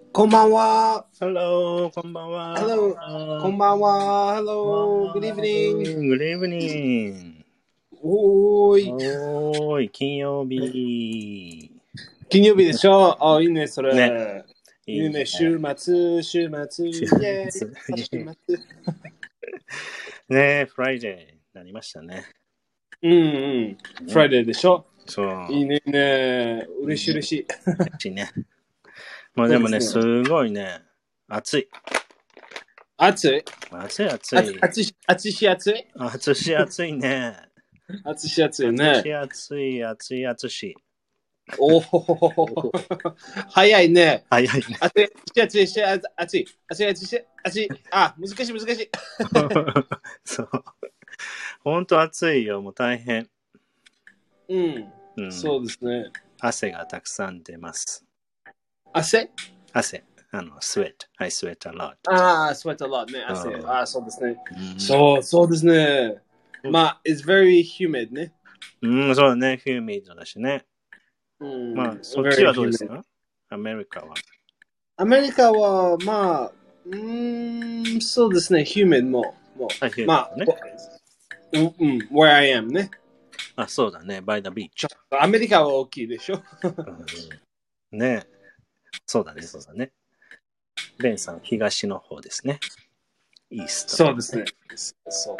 こんばんは。 Hello, こんばんは。 Hello. こんばんは。Hello. Good evening. Good evening. おーい。 おーい、金曜日。 金曜日でしょ。あ、いいね、それ。 ね。 いいね、週末、イェーイ。週末。 ね、フライデーになりましたね。 うん。フライデーでしょ。 そう。 いいね、嬉しい。 嬉しいね。まあでもね、すごいね、暑い。 暑い。 暑い。 暑いね。 暑い。暑い。 おお、早いね。 早いね。 暑い。あ、難しい。 そう。ほんと暑いよ、もう大変。 そうですね。 汗がたくさん出ます。 汗、 sweat. I sweat a lot. sweat a lot ね。汗。そうですね。そうですね。まあ、it's very humid ね。 そうだね。humid だしね。まあ、そっちはどうですか？アメリカは。 アメリカは、まあ、そうですね。humid も。まあ、where I am ね。 そうだね。by the beach。 アメリカは大きいでしょ。 ね。そうだね。ベンさん、東の方ですね。イースト。 そうですね。そう。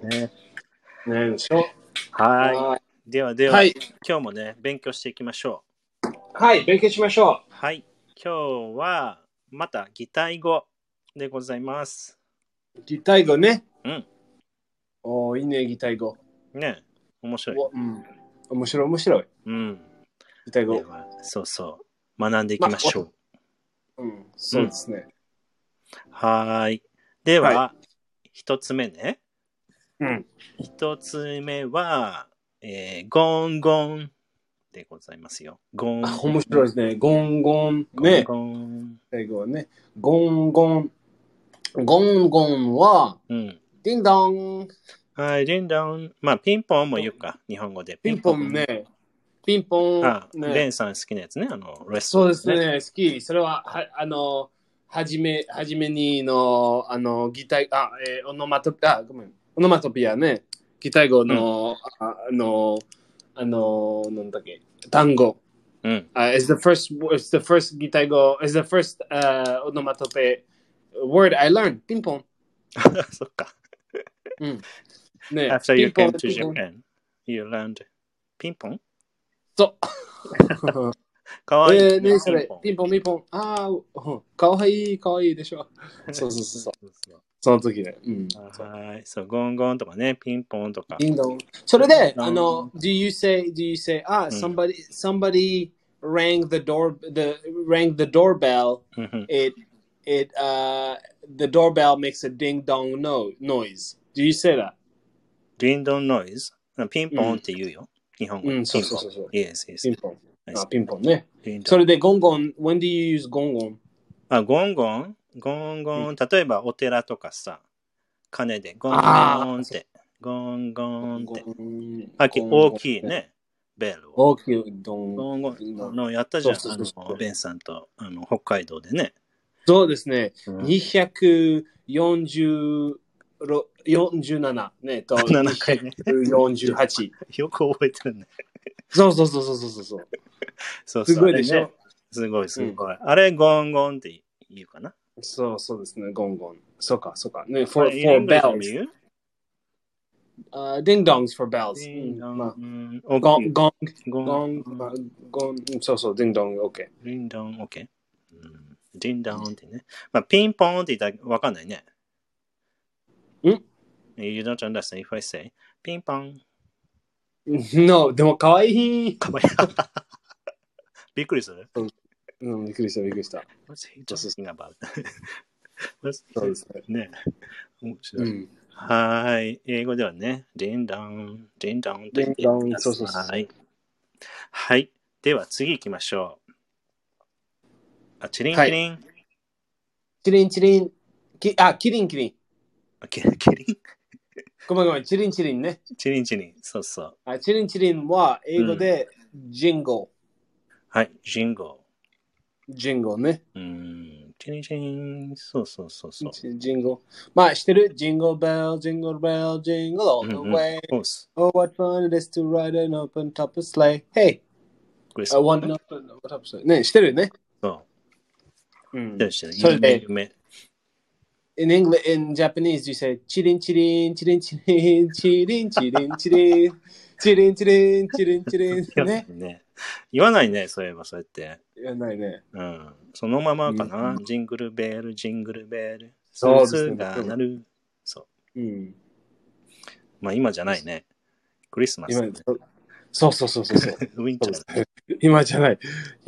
ねでしょ。 はい。では、 はい、 今日もね、勉強していきましょう。はい、勉強しましょう。 はい。今日は、また擬態語でございます。 擬態語ね。 いいいね、擬態語。 ね。面白い。 面白い。擬態語。 では、そう。学んでいきましょう。そうですね。 はい。では、一つ目ね。一つ目は、ゴンゴンでございますよ。ゴン。 面白いですね。ゴンゴン。ね。 ゴン。 英語はね。ゴンゴン。ゴンゴンは、ディンドン。 はい、ディンドン。まあ、ピンポンも言うか。日本語で。 ピンポンね。ピンポン。 ベンさん好きなやつね。 そうですね。好き。それは、はじめにの、擬態、オノマトピアね。擬態語の、なんだっけ、単語。is the first 擬態語、is the first onomatopoeia word I learned. ピンポン。 そっか。 ね、 After you came to Japan, you learned ピンポン？ そう。 かわいいね、それ、ピンポン。かわいいでしょ。そう。その時ね。 はい。そう、ゴンゴンとかね、ピンポンとか。 それで、do you say, somebody rang the doorbell, the doorbell makes a ding dong noise. Do you say that? Ding dong noise? ピンポンって言うよ。日本語。 そう。 Yes. ピンポンね。それで、ゴンゴン、when do you use ゴンゴン？ ゴンゴン。例えば、お寺とかさ、鐘でゴンゴンって。ゴンゴンって。大きいね。ベルを。 大きいドン。 ゴンゴン。やったじゃん。ベンさんと北海道でね。 そうですね。247ねと248。 よく覚えてるね。 そう。すごいでしょ。 すごい。あれ、ゴンゴンって言うかな。 そうですね。ゴンゴン。そうか。ね、 for bells. Ding dongs for bells. ゴン。そう、ding dong, OK. Ding dong, OK. Ding dong ってね。まあ、ピンポンって言ったらわかんないね。You don't understand if I say ピンポン。 No, でもかわいい。 びっくりする？ びっくりした。 What's he talking about? そうですね。面白い。はい。英語ではね、ディンドンと言ってください。はい。では次行きましょう。チリン。 キリン。キリン。 キリン。 ごめん。チリンね。 チリン。そう。 チリンは英語でジンゴ。 はい、ジンゴ。 ジンゴね。 チリンチリン。そう。 ジンゴ。まあ、してる？ジンゴベル、ジンゴベル、ジンゴ all the way. Oh, what fun it is to ride an open top of sleigh. Hey! One open top of sleigh. ね、してるね。 そう。 それで、In English, in Japanese, you say チリンチリン、チリンチリン、チリンチリン、チリン、チリンチリン、チリンチリン。 ね。言わないね、そういえばそうやって。 言わないね。 そのままかな。ジングルベール、ジングルベール。 そうですね。 が鳴る。そう。まあ今じゃないね。クリスマス。 そう。 ウィンター。 今じゃない。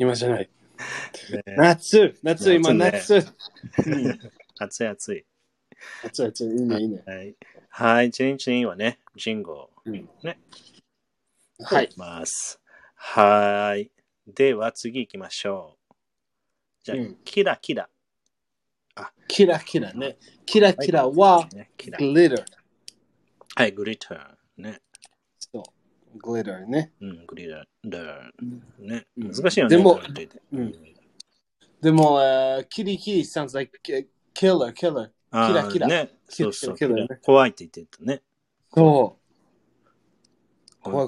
夏、今夏。 暑い。 いいね。 はい、チリンチリンはね、ジンゴ。ね。 はい。 はい。では次行きましょう。じゃあ、キラキラ。 キラキラね。キラキラは、グリッター。 はい、グリッター。ね。 そう。グリッターね。 グリッター。ね。難しいよね。 でも、キリキリ sounds like killer. キラキラ。 ね。そう。怖いって言ってたね。 そう。怖い。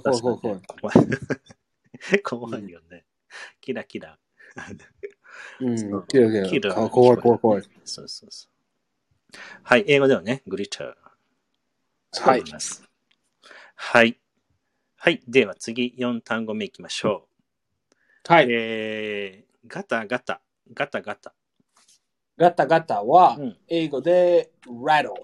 怖いよね。キラキラ。 キラ。怖い。 そう。はい、英語ではね、グリッター。 はい。 はい。では次、4単語目いきましょう。はい。 ガタガタ。ガタは、英語で rattle。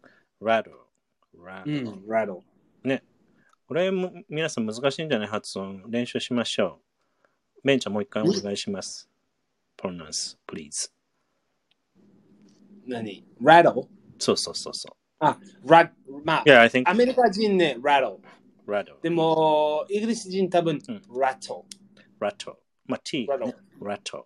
ね。これも皆さん難しいんじゃない？発音。練習しましょう。ベンちゃんもう一回お願いします。pronounce, please. 何？ rattle？ そう。 まあ、 yeah, I think... アメリカ人ね、rattle。でも、イギリス人多分、rattle。 まあ、t、ね。rattle。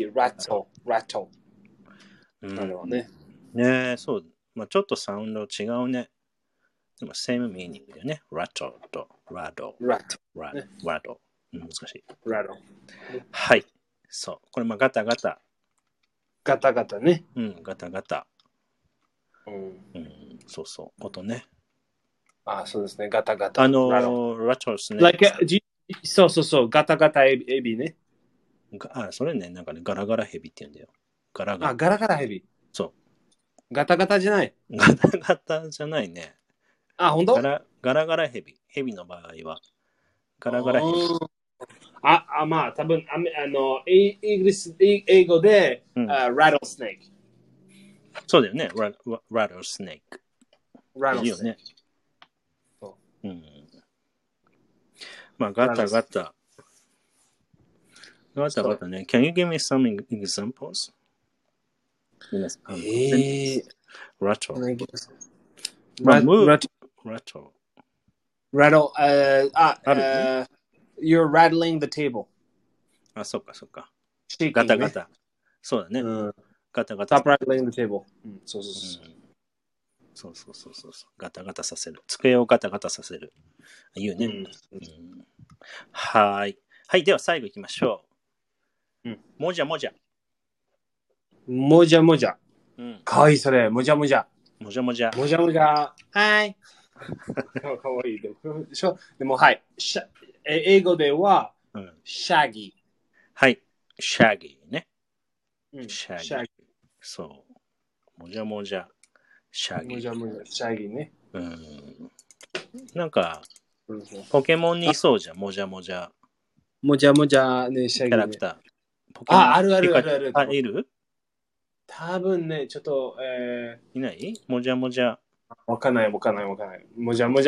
なるほどね。 ねえ、そう。まあ、ちょっとサウンド違うね。でも、same meaning だよね。rattle と rattle。難しい。はい。そう。これ、まあ、ガタガタ。 ガタね。 ガタ。そう。音ね。 そうですね。ガタ。 rattle スネーク。そう。ガタエビね。 それね、なんかね、ガラガラヘビって言うんだよ。ガラガラヘビ。 そう。 ガタじゃない。 ガタじゃないね。 本当？ ガラガラヘビ。ヘビの場合は。ガラガラヘビ。 まあ、多分イギリス、英語で、rattle snake。 そうだよね。rattle snake。いいよね。まあ、ガタね。Can you give me some examples? Rattle. You're rattling the table. そっか。ガタ。そうだね。ガタ。 Stop rattling the table. そう。 ガタさせる。机をガタさせる。言うね。はい。では最後行きましょう。もじゃ。 かわいい、それ。もじゃ。 もじゃ。 はい。かわいい。でも、はい。英語では、シャギー。 はい。シャギーね。シャギー。そう。もじゃ。シャギー。 シャギーね。 なんか、ポケモンにいそうじゃん、もじゃ。 もじゃね、シャギー、ね。キャラクター。 ある。 いる？ 多分ね、ちょっと、 いない？もじゃ。 わかんない。もじゃ。日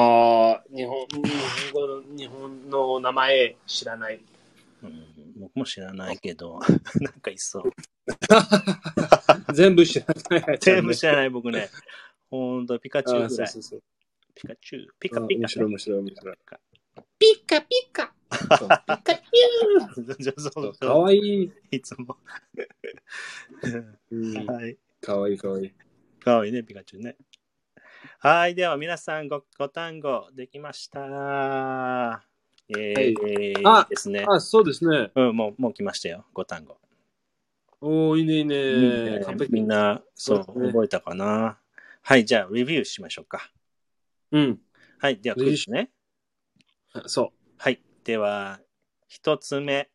本の名前知らない。 僕も知らないけど、なんかいそう。 全部知らない。 全部知らない僕ね。ほんと、ピカチュウぐらい。 そう。 ピカチュウ。ピカ。 面白い。 ピカ。ピカチュウ。 かわいい。 いつも。はい。 かわいい。 かわいいね、ピカチュウね。はい。では、皆さんご単語できました。ですね。 そうですね。 もう来ましたよ、5単語。 おー、いいね、いいね。完璧。 みんな、そう、覚えたかな。はい、じゃあ、レビューしましょうか。 うん。 はい、では、クイズね。 そう。 はい、では、一つ目。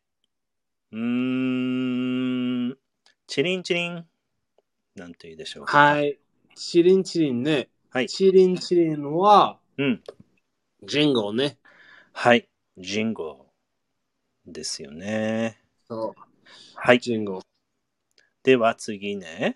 チリンチリン。なんて言うでしょうか。 はい。チリンチリンね。 はい。 チリンチリンは、 ジンゴね。 はい、ジンゴですよね。 そう。 はい。 ジンゴ。 では次ね。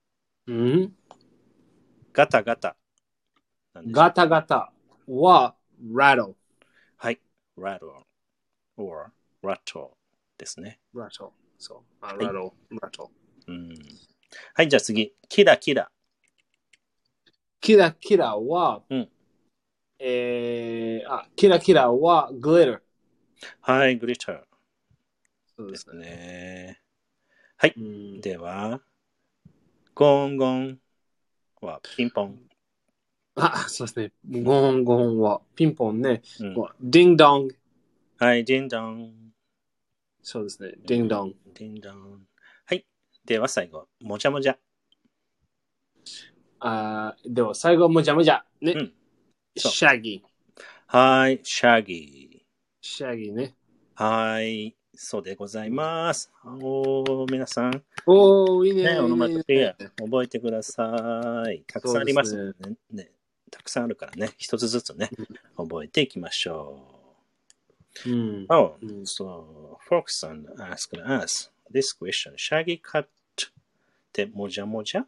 ガタガタ。 ガタガタは、rattle。 はい。rattle or rattle ですね。 rattle。そう。rattle。rattle。 はい、じゃあ次。キラキラ。 キラキラは、キラキラは glitter。 はい、glitter。 そうですね。 はい。では、ゴンゴンはピンポン。 そうですね。ゴンゴンはピンポンね。ディンドン。 はい、ディンドン。 そうですね。ディンドン。 ディンドン。はい。では最後、もじゃもじゃ。 では最後、もじゃもじゃ。ね。シャギー。 はい、シャギー。 シャギーね。 はい、そうでございます。皆さん。 いいね。 オノマトペ覚えてください。たくさんありますね。たくさんあるからね、一つずつね、覚えていきましょう。So, Foxson asked us this question. Shaggy cat ってもじゃもじゃ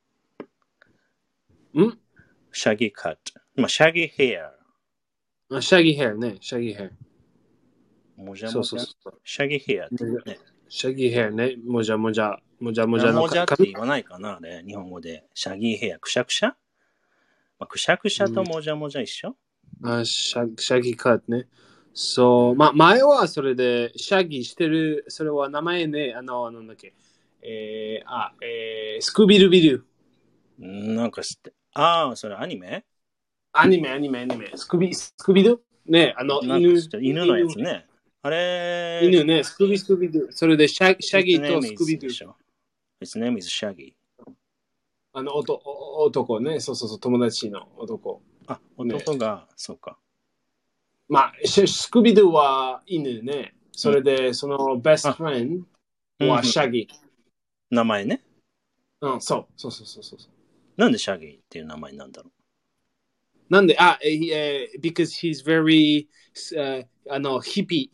？Shaggy cat。shaggy hair。 shaggy hair ね。shaggy hair。 もじゃもじゃ。shaggy hair ってね。 shaggy hair ね。もじゃもじゃ。もじゃもじゃのもじゃって言わないかなあれ、日本語で。シャギーヘア、くしゃくしゃくしゃくしゃともじゃもじゃ一緒シャギーカットね。そう、前はそれで、シャギーしてる、それは名前ね、なんだっけ。スクビルビル。 なんか知って。それアニメ。 スクビドね、 犬のやつね。あれ犬ね、スクビド。それでシャギーとスクビド。 His name is Shaggy。 男ね、そう、友達の男。 男が、そうか。 スクビドは犬ね。それで、そのベストフレンドはシャギー。 名前ね。 そう。 なんでシャギーっていう名前なんだろう。 なんで、because he's very, hippie,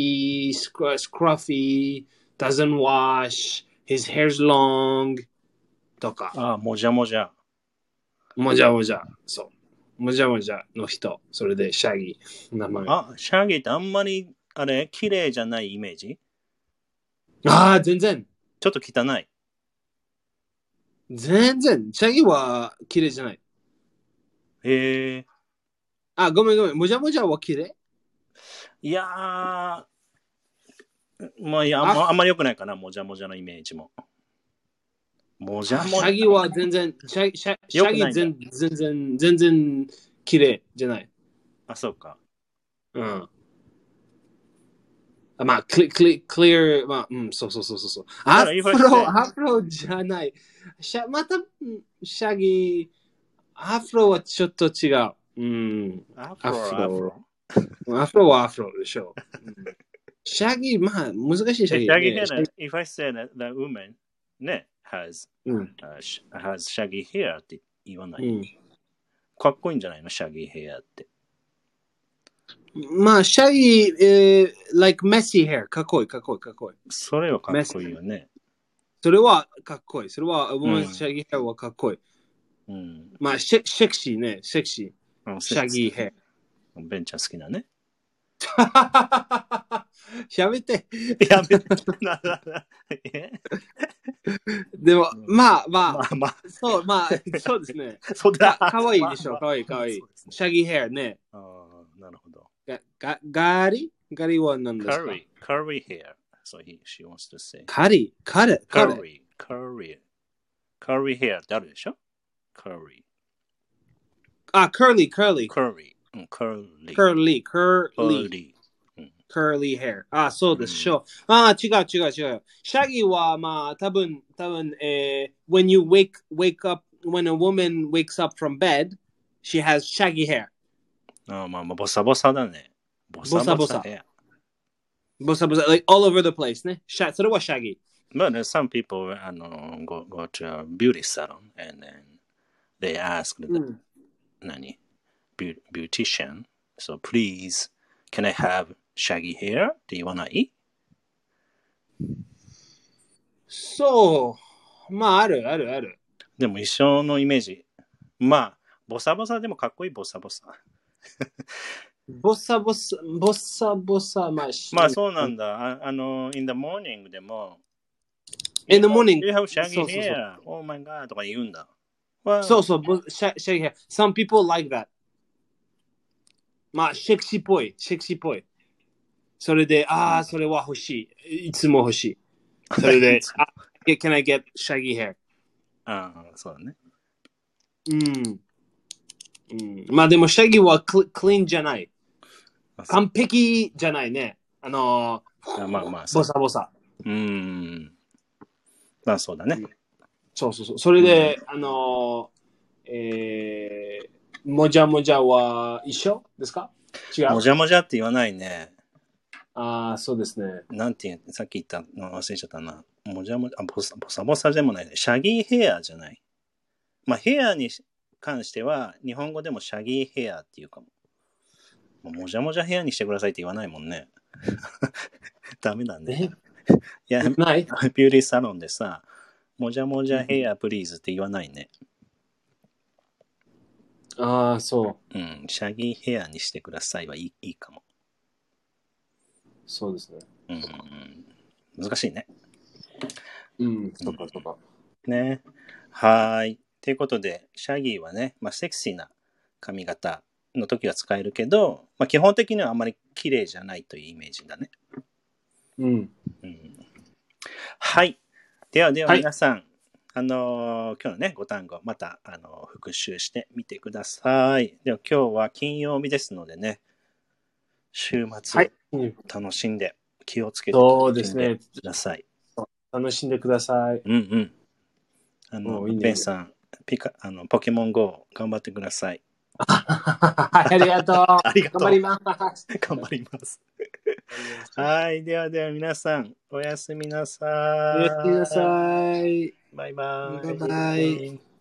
scruffy, doesn't wash, his hair's long, とか。 もじゃもじゃ。 もじゃもじゃ。そう。もじゃもじゃの人。それで、シャギー。名前。 シャギーってあんまり、綺麗じゃないイメージ？ 全然。 ちょっと汚い。 全然。シャギーは綺麗じゃない。 へえ。 ごめん。もじゃもじゃは綺麗？ いやあんまり良くないかな、もじゃもじゃのイメージも。もじゃもじゃ。 シャギは全然、シャギ全然綺麗じゃない。 そうか。 クリア、そう。アフロじゃない。また、シャギー、アフロはちょっと違う。アフロはアフロでしょ。シャギー、難しいシャギー。 シャギー if I say that the woman ね、has shaggy hair って言わない。かっこいいんじゃないの、シャギーヘアって。 シャギー、like messy hair。かっこいい。 それはかっこいいよね。 それはかっこいい。それは、シャギーヘアはかっこいい。セクシーね、セクシー。シャギーヘア。ベンちゃん好きなね。 やめて。でも、そうですね。かわいいでしょ、かわいい。シャギーヘアね。 なるほど。 ガリは何ですか？ カリーヘア。So she wants to say. カリヘアってあるでしょ？カリー。 カーリー。 カリー。 curly hair. あ、そうです。違う。シャギは、まあ、多分、when you wake up, when a woman wakes up from bed, she has shaggy hair. まあ、ボサボサだね。ボサボサヘア。 ボサボサ、like all over the place ね。それは shaggy. But some people go to a beauty salon and then they ask the beautician, so please, can I have shaggy hair? って言わない？ そう。まあ、ある。 でも一緒のイメージ。まあ、ボサボサでもかっこいいボサボサ。 ボサボサ、まあそうなんだ。in the morning でも、 in the morning. You have shaggy hair. Oh my god とか言うんだ。 そう、shaggy hair. Some people like that. まあ、セクシーっぽい。それで、それは欲しい。いつも欲しい。それで、can I get shaggy hair? そうだね。 まあでも、シャギはクリーンじゃない。完璧じゃないね。ボサボサ。 まあそうだね。 そう。それで、もじゃもじゃは一緒ですか？違う。 もじゃもじゃって言わないね。 そうですね。 なんてさっき言ったの忘れちゃったな。もじゃもじゃ、ボサボサでもないね。シャギーヘアじゃない。まあヘアに関しては、日本語でもシャギーヘアっていうかも。もじゃもじゃヘアにしてくださいって言わないもんね。ダメだね。いや、 ない。 ビューティーサロンでさ、もじゃもじゃヘアプリーズって言わないね。 そう。 シャギーヘアにしてくださいはいいかも。 そうですね。 難しいね。 そうか。 ね。はい。ということで、シャギーはね、まあ、セクシーな髪型の時は使えるけど、まあ、基本的にはあんまり綺麗じゃないというイメージだね。はい。では皆さん、今日のね、ご単語、また、復習してみてください。では今日は金曜日ですのでね、週末、楽しんで、気をつけて楽しんでください。 楽しんでください。 ペンさん、ポケモン GO 頑張ってください。 ありがとう。頑張ります。 はい。では皆さん、おやすみなさい。 おやすみなさい。 バイバイ。 バイバイ。